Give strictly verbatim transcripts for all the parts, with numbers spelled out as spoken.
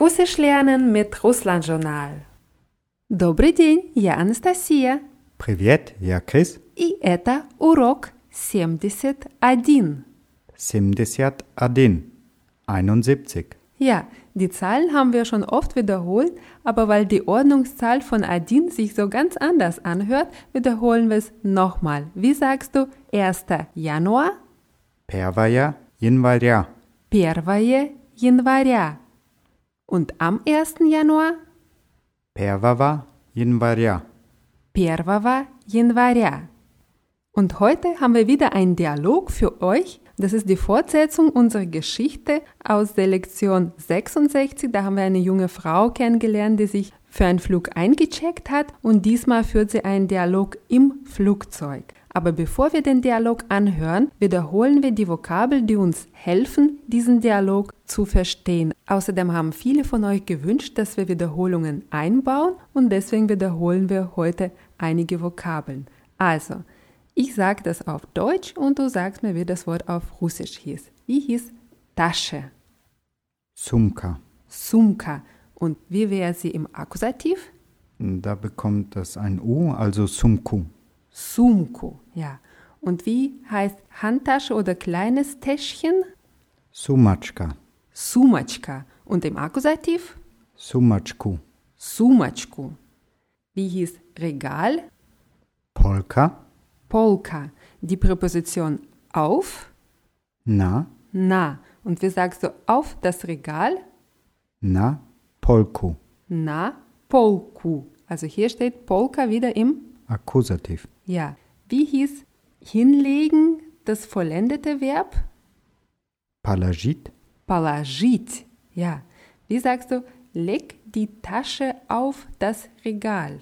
Russisch lernen mit Russland-Journal. Добрый день, я Анастасия. Привет, я Крис. И это урок семьдесят один. семьдесят один. einundsiebzig. Ja, die Zahlen haben wir schon oft wiederholt, aber weil die Ordnungszahl von один sich so ganz anders anhört, wiederholen wir es nochmal. Wie sagst du erster Januar? первое января. первое января. Und am ersten Januar? первого января. первого января. Und heute haben wir wieder einen Dialog für euch. Das ist die Fortsetzung unserer Geschichte aus der Lektion sechsundsechzig. Da haben wir eine junge Frau kennengelernt, die sich für einen Flug eingecheckt hat und diesmal führt sie einen Dialog im Flugzeug. Aber bevor wir den Dialog anhören, wiederholen wir die Vokabeln, die uns helfen, diesen Dialog zu verstehen. Außerdem haben viele von euch gewünscht, dass wir Wiederholungen einbauen und deswegen wiederholen wir heute einige Vokabeln. Also, ich sage das auf Deutsch und du sagst mir, wie das Wort auf Russisch hieß. Wie hieß Tasche? Sumka. Sumka. Und wie wäre sie im Akkusativ? Da bekommt das ein U, also Sumku. Sumku, ja. Und wie heißt Handtasche oder kleines Täschchen? Sumatschka. Sumatschka. Und im Akkusativ? Sumatschku. Sumatschku. Wie hieß Regal? Polka. Polka. Die Präposition auf? Na. Na. Und wie sagst du auf das Regal? Na polku. Na polku. Also hier steht Polka wieder im Akkusativ. Ja. Wie hieß hinlegen das vollendete Verb? Palagit. Palagit. Ja. Wie sagst du, leg die Tasche auf das Regal?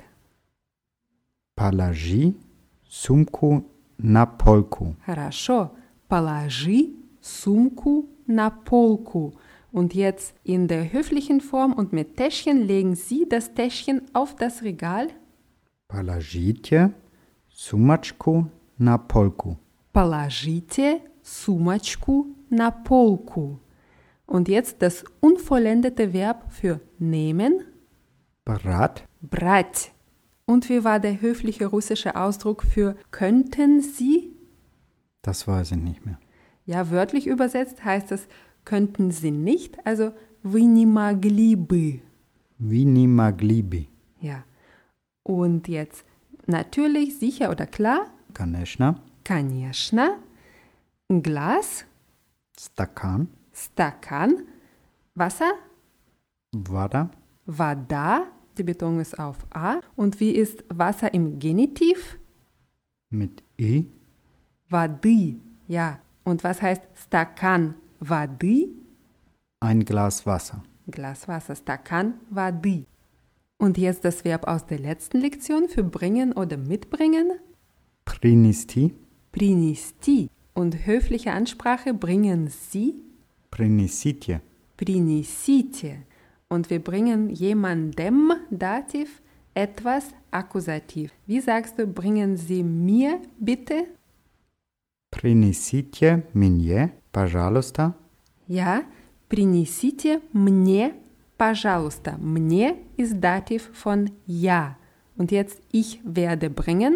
Palagi sumku na polku. Хорошо. Положи сумку на полку. Und jetzt in der höflichen Form und mit Täschchen legen Sie das Täschchen auf das Regal. Положите сумочку на полку. Положите сумочку на полку. Und jetzt das unvollendete Verb für nehmen. Брать. Брать. Und wie war der höfliche russische Ausdruck für könnten Sie? Das weiß ich nicht mehr. Ja, wörtlich übersetzt heißt es könnten Sie nicht, also вы не могли бы. Вы не могли бы. Ja. Und jetzt natürlich, sicher oder klar? Конечно. Конечно. Glas. Стакан. Стакан. Wasser. Вода. Вода. Die Betonung ist auf A. Und wie ist Wasser im Genitiv? Mit I. Воды. Ja. Und was heißt Стакан воды? Ein Glas Wasser. Glas Wasser. Стакан воды. Und jetzt das Verb aus der letzten Lektion für bringen oder mitbringen. Принести. Принести. Und höfliche Ansprache bringen Sie. Принесите. Принесите. Und wir bringen jemandem Dativ etwas Akkusativ. Wie sagst du, bringen Sie mir bitte? Принесите мне, пожалуйста. Ja, принесите мне, пожалуйста. Мне ist Dativ von ja. Und jetzt ich werde bringen.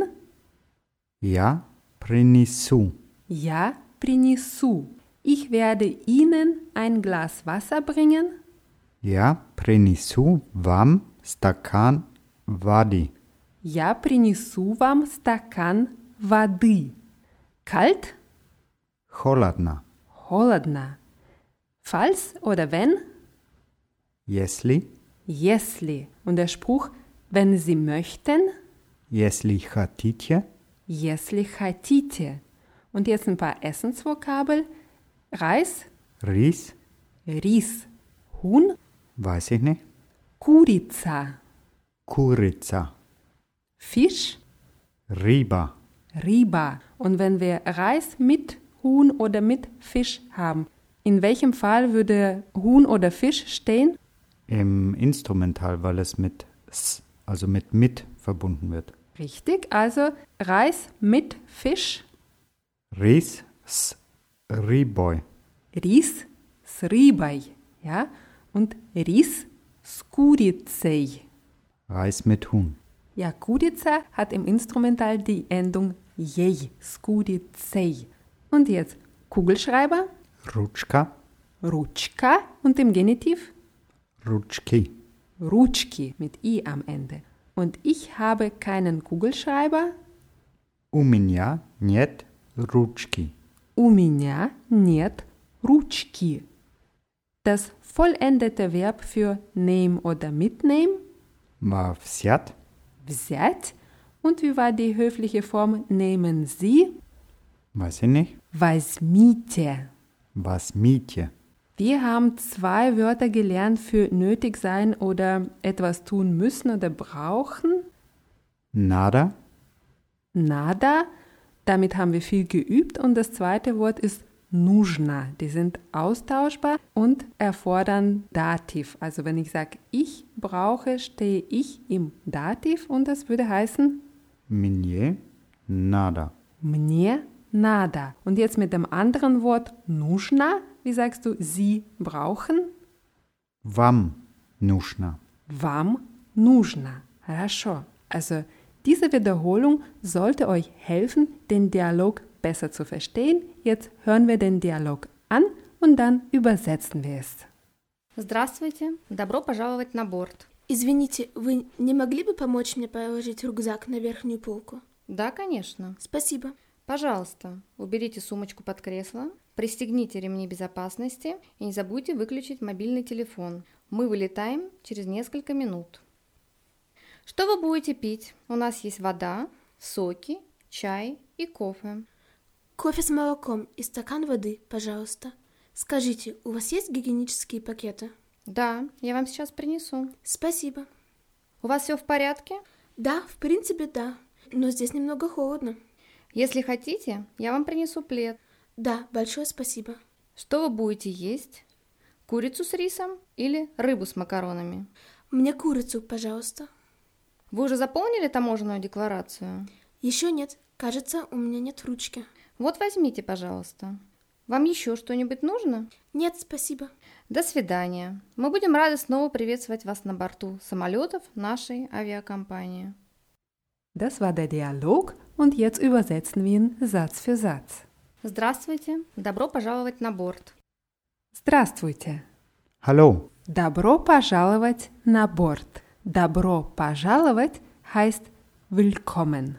Я принесу. Ja, принесу. Ich werde Ihnen ein Glas Wasser bringen. Я принесу вам стакан воды. Я принесу вам стакан воды. Kalt? Холодно. Холодно. Falls oder wenn? Если. Если. Und der Spruch, wenn Sie möchten? Если хотите. Если хотите. Und jetzt ein paar Essensvokabel. Reis? Рис. Ris. Huhn? Weiß ich nicht. Курица. Курица. Fisch? Рыба. Riba. Und wenn wir Reis mit Huhn oder mit Fisch haben, in welchem Fall würde Huhn oder Fisch stehen? Im Instrumental, weil es mit s, also mit mit verbunden wird. Richtig, also Reis mit Fisch. Рис с рыбой. Ris с рыбой. Ja? Und Ris с курицей. Reis mit Huhn. Ja, Kurica hat im Instrumental die Endung jej, с курицей. Und jetzt Kugelschreiber, Rutschka, Rutschka und im Genitiv Rutschki. Rutschki mit i am Ende. Und ich habe keinen Kugelschreiber. У меня нет ручки. У меня нет ручки. Das vollendete Verb für nehmen oder mitnehmen, War взять, взять. Und wie war die höfliche Form nehmen Sie? weiß ich nicht. Возьмите. Возьмите. Wir haben zwei Wörter gelernt für nötig sein oder etwas tun müssen oder brauchen. Nada, Nada, damit haben wir viel geübt. Und das zweite Wort ist нужно. Die sind austauschbar und erfordern Dativ. Also wenn ich sage, ich brauche, stehe ich im Dativ und das würde heißen мне надо. мне надо. Und jetzt mit dem anderen Wort нужно, wie sagst du, Sie brauchen? Вам нужно. Вам нужно. Хорошо. Also diese Wiederholung sollte euch helfen, den Dialog besser zu verstehen. Jetzt hören wir den Dialog an und dann übersetzen wir es. Здравствуйте, добро пожаловать на борт. Извините, вы не могли бы помочь мне положить рюкзак на верхнюю полку? Да, конечно. Спасибо. Пожалуйста, уберите сумочку под кресло, пристегните ремни безопасности и не забудьте выключить мобильный телефон. Мы вылетаем через несколько минут. Что вы будете пить? У нас есть вода, соки, чай и кофе. Кофе с молоком и стакан воды, пожалуйста. Скажите, у вас есть гигиенические пакеты? Да, я вам сейчас принесу. Спасибо. У вас все в порядке? Да, в принципе, да. Но здесь немного холодно. Если хотите, я вам принесу плед. Да, большое спасибо. Что вы будете есть? Курицу с рисом или рыбу с макаронами? Мне курицу, пожалуйста. Вы уже заполнили таможенную декларацию? Еще нет. Кажется, у меня нет ручки. Вот возьмите, пожалуйста. Вам еще что-нибудь нужно? Нет, спасибо. До свидания. Мы будем рады снова приветствовать вас на борту самолетов нашей авиакомпании. Das war der Dialog und jetzt übersetzen wir ihn Satz für Satz. Здравствуйте. Добро пожаловать на борт. Здравствуйте. Hallo, Добро пожаловать на борт. Добро пожаловать heißt willkommen.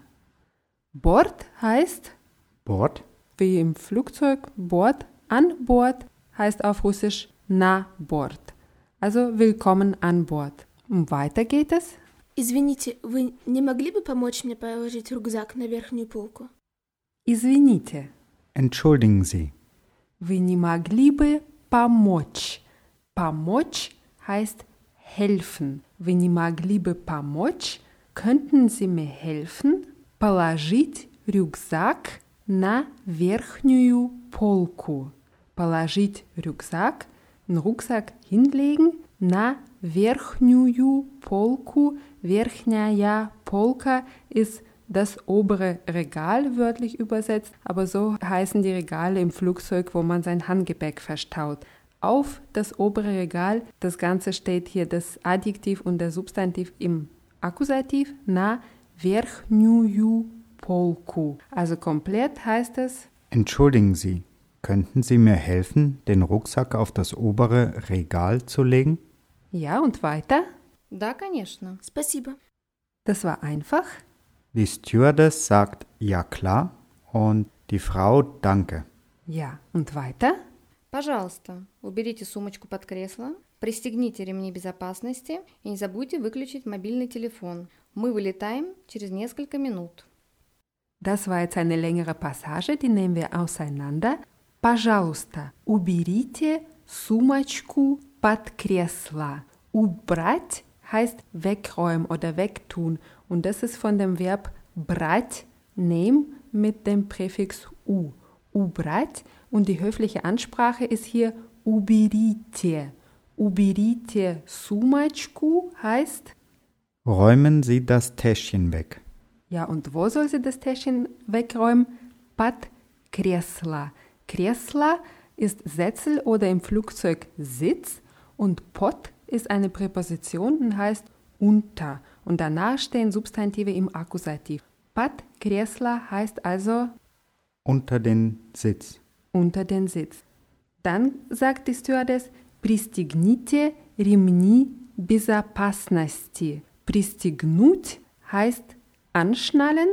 Bord heißt, Bord, wie im Flugzeug, Bord, an Bord heißt auf Russisch na Bord. Also willkommen an Bord. Und weiter geht es. Извините, вы не могли бы помочь мне положить рюкзак на верхнюю полку? Извините. entschuldigen Sie. Вы не могли бы помочь. Помочь heißt helfen. Вы не могли бы помочь? Könnten Sie mir helfen? Положить рюкзак на верхнюю полку. Положить Rucksack, einen Rucksack hinlegen, на верхнюю полку. Верхняя полка ist das obere Regal, wörtlich übersetzt, aber so heißen die Regale im Flugzeug, wo man sein Handgepäck verstaut. Auf das obere Regal, das Ganze steht hier das Adjektiv und der Substantiv im Akkusativ, na верхнюю полку. Also komplett heißt es: Entschuldigen Sie, könnten Sie mir helfen, den Rucksack auf das obere Regal zu legen? Ja, und weiter? Да, конечно. Спасибо. Das war einfach. Die Stewardess sagt ja klar und die Frau danke. Ja, und weiter? Пожалуйста, уберите сумочку под кресло, пристегните ремни безопасности и не забудьте выключить мобильный телефон. Мы вылетаем через несколько минут. Das war jetzt eine längere Passage, die nehmen wir auseinander. Пожалуйста, уберите сумочку под кресло. Убрать heißt wegräumen oder wegtun. Und das ist von dem Verb брать, nehmen, mit dem Präfix u. Убрать. Und die höfliche Ansprache ist hier уберите. Уберите сумочку heißt: Räumen Sie das Täschchen weg. Ja, und wo soll sie das Täschchen wegräumen? Под кресло. Кресло ist Sessel oder im Flugzeug Sitz und pod ist eine Präposition und heißt unter. Und danach stehen Substantive im Akkusativ. Под кресло heißt also Unter den Sitz. unter den Sitz. Dann sagt die Stewardess, пристегните ремни безопасности. Пристегнуть heißt anschnallen.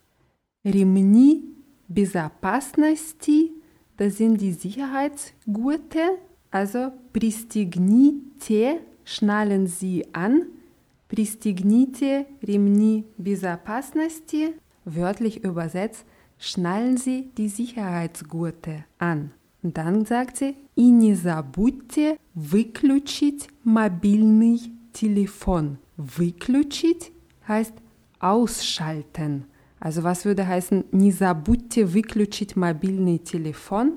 Ремни безопасности, das sind die Sicherheitsgurte. Also пристегните, schnallen Sie an. Пристегните ремни безопасности. Wörtlich übersetzt, schnallen Sie die Sicherheitsgurte an. Und dann sagt sie, и не забудьте выключить мобильный телефон. Выключить heißt ausschalten. Also was würde heißen, не забудьте выключить мобильный телефон?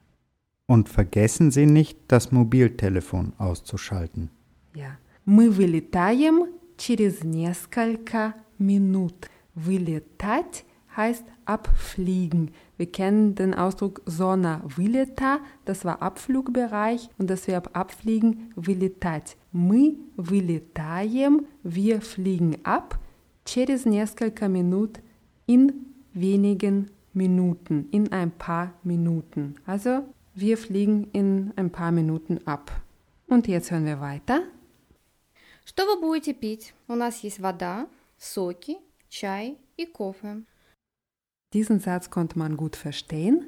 Und vergessen Sie nicht, das Mobiltelefon auszuschalten. Ja. Мы вылетаем через несколько минут. Вылетать heißt abfliegen. Wir kennen den Ausdruck зона вылета, das war Abflugbereich und das Verb abfliegen, вылетать. Мы вылетаем, wir fliegen ab, через несколько минут, in wenigen Minuten, in ein paar Minuten. Also, wir fliegen in ein paar Minuten ab. Und jetzt hören wir weiter. Что вы будете пить? У нас есть вода, соки, чай и кофе. Diesen Satz konnte man gut verstehen.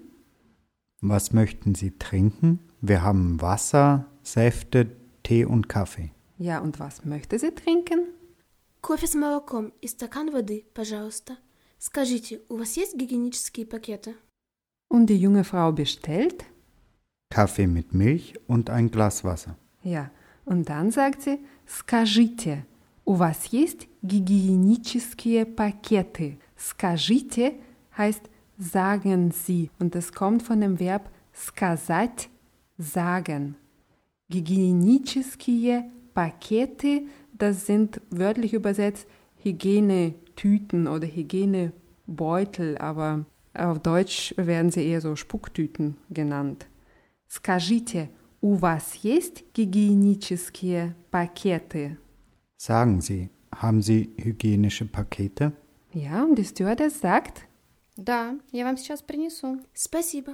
Was möchten Sie trinken? Wir haben Wasser, Säfte, Tee und Kaffee. Ja, und was möchte sie trinken? Кофе с молоком и стакан воды, пожалуйста. Скажите, у вас есть гигиенические пакеты? Und die junge Frau bestellt. Kaffee mit Milch und ein Glas Wasser. Ja, und dann sagt sie, скажите, у вас есть гигиенические пакеты? Скажите heißt sagen Sie und das kommt von dem Verb сказать, sagen. Гигиенические пакеты, das sind wörtlich übersetzt Hygienetüten oder Hygienebeutel, aber auf Deutsch werden sie eher so Spucktüten genannt. Скажите, у вас есть гигиенические пакеты? Sagen Sie, haben Sie hygienische Pakete? Ja, und die Stewardess sagt, Да, я вам сейчас принесу. Спасибо.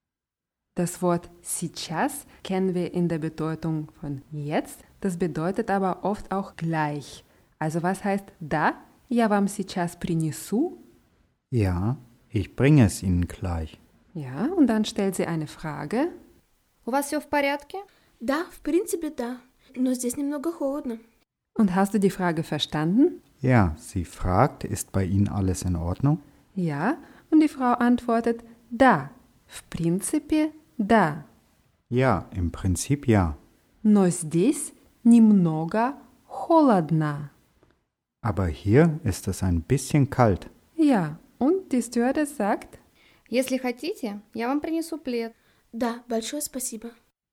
das Wort сейчас kennen wir in der Bedeutung von jetzt, das bedeutet aber oft auch gleich. Also was heißt da? Я вам сейчас принесу. Ja, ich bringe es Ihnen gleich. Ja, und dann stellt sie eine Frage. У вас все в порядке? Да, в принципе, да. Но здесь немного холодно. Und hast du die Frage verstanden? Ja, sie fragt, ist bei Ihnen alles in Ordnung? Ja, und die Frau antwortet, да, в принципе, да. Ja, im Prinzip ja. Но здесь немного холодно. Aber hier ist es ein bisschen kalt. Ja, und die Stewardess sagt, Если хотите, я вам принесу плед. Да, большое спасибо.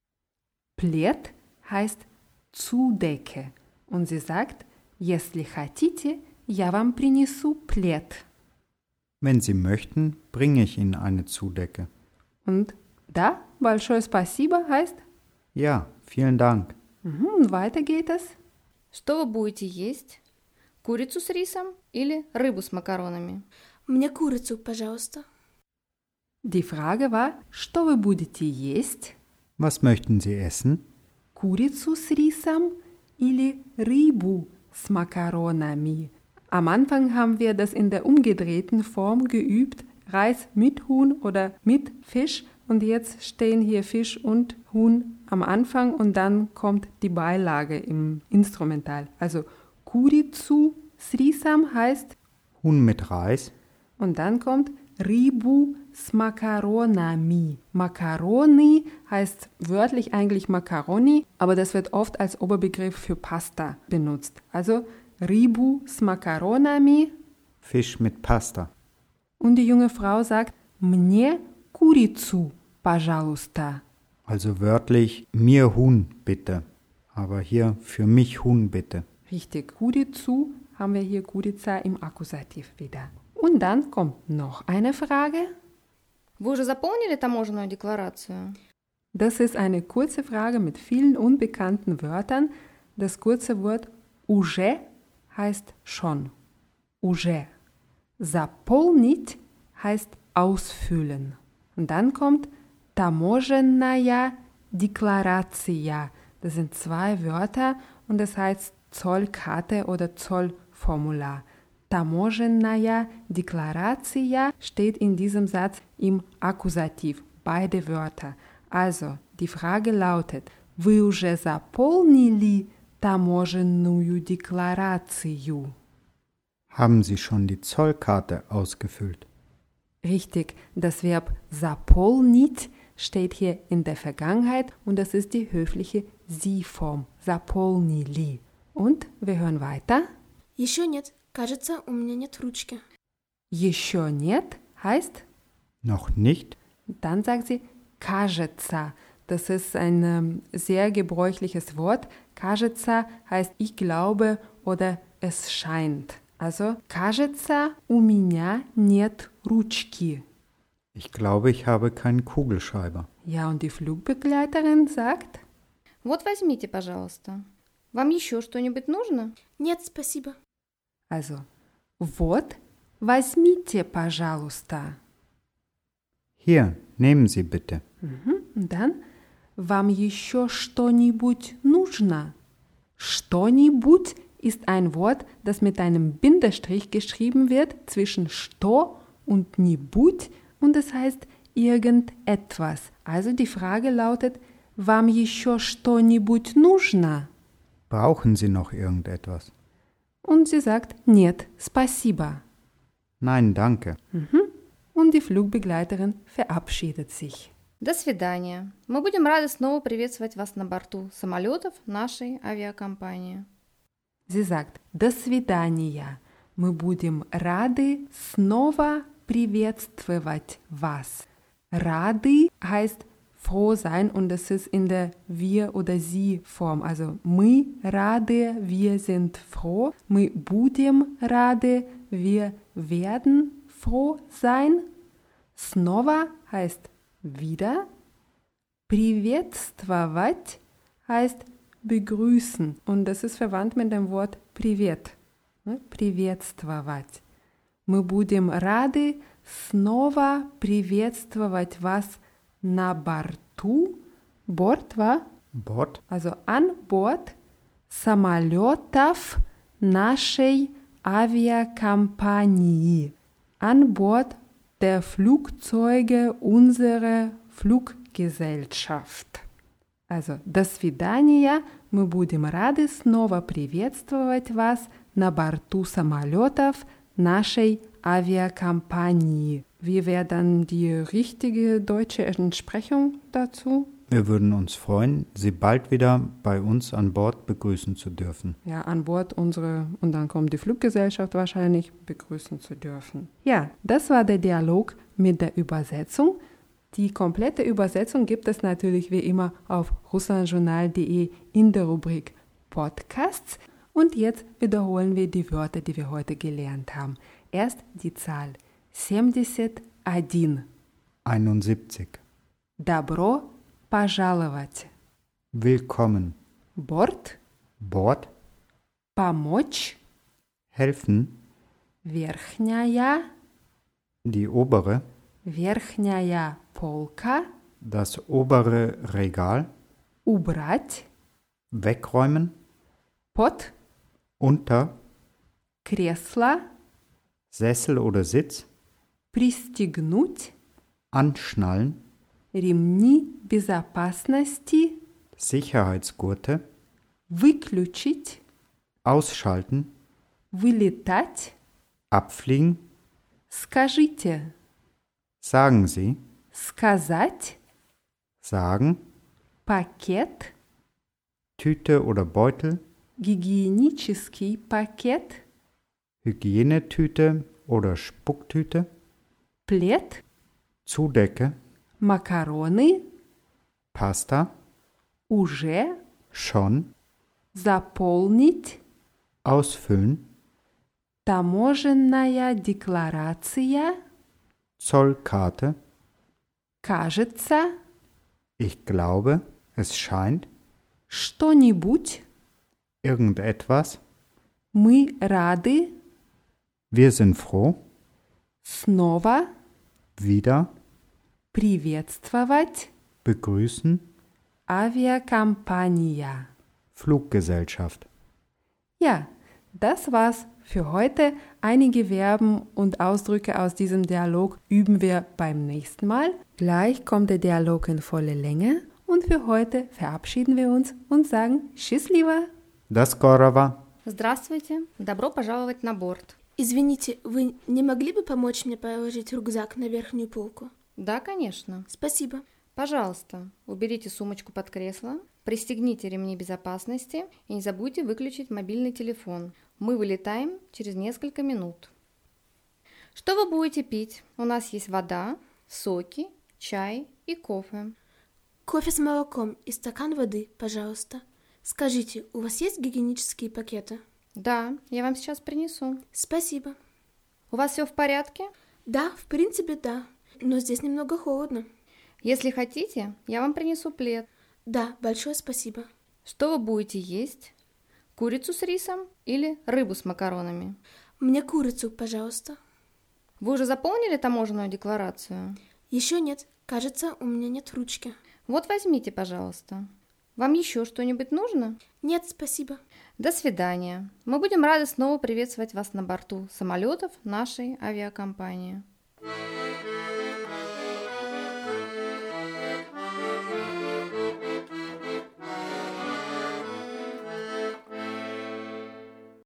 Плед heißt Zudecke. Und sie sagt, если хотите, я вам принесу плед. Wenn Sie möchten, bringe ich Ihnen eine Zudecke. Und da, большое спасибо heißt, Ja, vielen Dank. mhm, und weiter geht es. Что вы будете есть? Курицу с рисом или рыбу с макаронами? Мне курицу, пожалуйста. Die Frage war, что вы будете есть? Was möchten Sie essen? Курицу с рисом или рыбу с макаронами? Am Anfang haben wir das in der umgedrehten Form geübt, Reis mit Huhn oder mit Fisch. Und jetzt stehen hier Fisch und Huhn am Anfang und dann kommt die Beilage im Instrumental. Also Kuricu s risam heißt Huhn mit Reis. und dann kommt Ribu s makaronami. Macaroni heißt wörtlich eigentlich Macaroni, aber das wird oft als Oberbegriff für Pasta benutzt. Also Ribu s makaronami. Fisch mit Pasta. Und die junge Frau sagt, мне курицу, пожалуйста. Also wörtlich, mir Huhn bitte. Aber hier für mich Huhn bitte. Richtig, курицу haben wir hier Kurica im Akkusativ wieder. Und dann kommt noch eine Frage. Вы уже заполнили таможенную декларацию? Das ist eine kurze Frage mit vielen unbekannten Wörtern. das kurze Wort уже heißt schon. Уже. Заполнить heißt ausfüllen. Und dann kommt таможенная декларация. Das sind zwei Wörter und das heißt Zollkarte oder Zollformular. Таможенная декларация steht in diesem Satz im Akkusativ, beide Wörter. Also, die Frage lautet, вы уже заполнили таможенную декларацию? Haben Sie schon die Zollkarte ausgefüllt? Richtig, das Verb заполнить steht hier in der Vergangenheit und das ist die höfliche Sie-Form. Заполнили. Und wir hören weiter. Еще нет. Кажется, у меня нет ручки. Еще нет heißt, Noch nicht? dann sagt sie кажется. Das ist ein ähm, sehr gebräuchliches Wort. Кажется heißt ich glaube oder es scheint. Also, кажется, у меня нет ручки. Ich glaube, ich habe keinen Kugelschreiber. Ja, und die Flugbegleiterin sagt, Вот возьмите, пожалуйста. Вам еще что-нибудь нужно? Нет, спасибо. also, вот, возьмите, пожалуйста. Hier, nehmen Sie bitte. Mhm. Und dann, вам еще что-нибудь нужно? Что-нибудь ist ein Wort, das mit einem Bindestrich geschrieben wird zwischen что und нибудь und es heißt irgendetwas. Also die Frage lautet, вам еще что-нибудь нужно? Brauchen Sie noch irgendetwas? Und sie sagt, нет, спасибо. Nein, danke. Mhm. Und die Flugbegleiterin verabschiedet sich. До свидания. Мы будем рады снова приветствовать вас на борту самолетов нашей авиакомпании. Sie sagt, до свидания. Мы будем рады снова приветствовать вас. Рады heißt froh sein und das ist in der wir oder sie Form. Also мы рады, wir sind froh. Мы будем рады, wir werden froh sein. Снова heißt wieder. Приветствовать heißt begrüßen und das ist verwandt mit dem Wort привет. Приветствовать. Мы будем рады снова приветствовать вас на борту. Борт war? Bord? Also an Bord самолетов нашей авиакомпании. An Bord der Flugzeuge unserer Fluggesellschaft. Also, до свидания, мы будем рады снова приветствовать вас на борту самолетов нашей Aviakampagne. Wie wäre dann die richtige deutsche Entsprechung dazu? Wir würden uns freuen, Sie bald wieder bei uns an Bord begrüßen zu dürfen. Ja, an Bord unsere, und dann kommt die Fluggesellschaft wahrscheinlich, begrüßen zu dürfen. Ja, das war der Dialog mit der Übersetzung. Die komplette Übersetzung gibt es natürlich wie immer auf russlandjournal punkt de in der Rubrik Podcasts. Und jetzt wiederholen wir die Wörter, die wir heute gelernt haben. Erst die Zahl семьдесят один. einundsiebzig. Добро пожаловать. Willkommen. Борт. Bord. Помочь. Helfen. Верхняя. Die obere. Верхняя полка. Das obere Regal. Убрать. Wegräumen. Под. Unter. Кресло. Sessel oder Sitz. Пристегнуть. Anschnallen. Ремни безопасности. Sicherheitsgurte. Выключить. Ausschalten. Вылетать. Abfliegen. Скажите. Sagen Sie. Сказать. Sagen. Пакет. Tüte oder Beutel. Гигиенический пакет. Hygienetüte oder Spucktüte. Плед. Zudecke. Макароны. Pasta. Уже. Schon. Заполнить. Ausfüllen. Таможенная декларация. Zollkarte. Кажется. Ich glaube, es scheint. Что-нибудь. Irgendetwas. Мы рады Wir sind froh, снова wieder, приветствовать begrüßen, Aviakompania. Fluggesellschaft. Ja, das war's für heute. Einige Verben und Ausdrücke aus diesem Dialog üben wir beim nächsten Mal. Gleich kommt der Dialog in volle Länge und für heute verabschieden wir uns und sagen Счастливо! До скорого! Здравствуйте, добро пожаловать на борт. Извините, вы не могли бы помочь мне положить рюкзак на верхнюю полку? Да, конечно. Спасибо. Пожалуйста, уберите сумочку под кресло, пристегните ремни безопасности и не забудьте выключить мобильный телефон. Мы вылетаем через несколько минут. Что вы будете пить? У нас есть вода, соки, чай и кофе. Кофе с молоком и стакан воды, пожалуйста. Скажите, у вас есть гигиенические пакеты? Да, я вам сейчас принесу. Спасибо. У вас все в порядке? Да, в принципе, да. Но здесь немного холодно. Если хотите, я вам принесу плед. Да, большое спасибо. Что вы будете есть? Курицу с рисом или рыбу с макаронами? Мне курицу, пожалуйста. Вы уже заполнили таможенную декларацию? Еще нет. Кажется, у меня нет ручки. Вот возьмите, пожалуйста. Вам еще что-нибудь нужно? Нет, спасибо. До свидания. Мы будем рады снова приветствовать вас на борту самолетов нашей авиакомпании.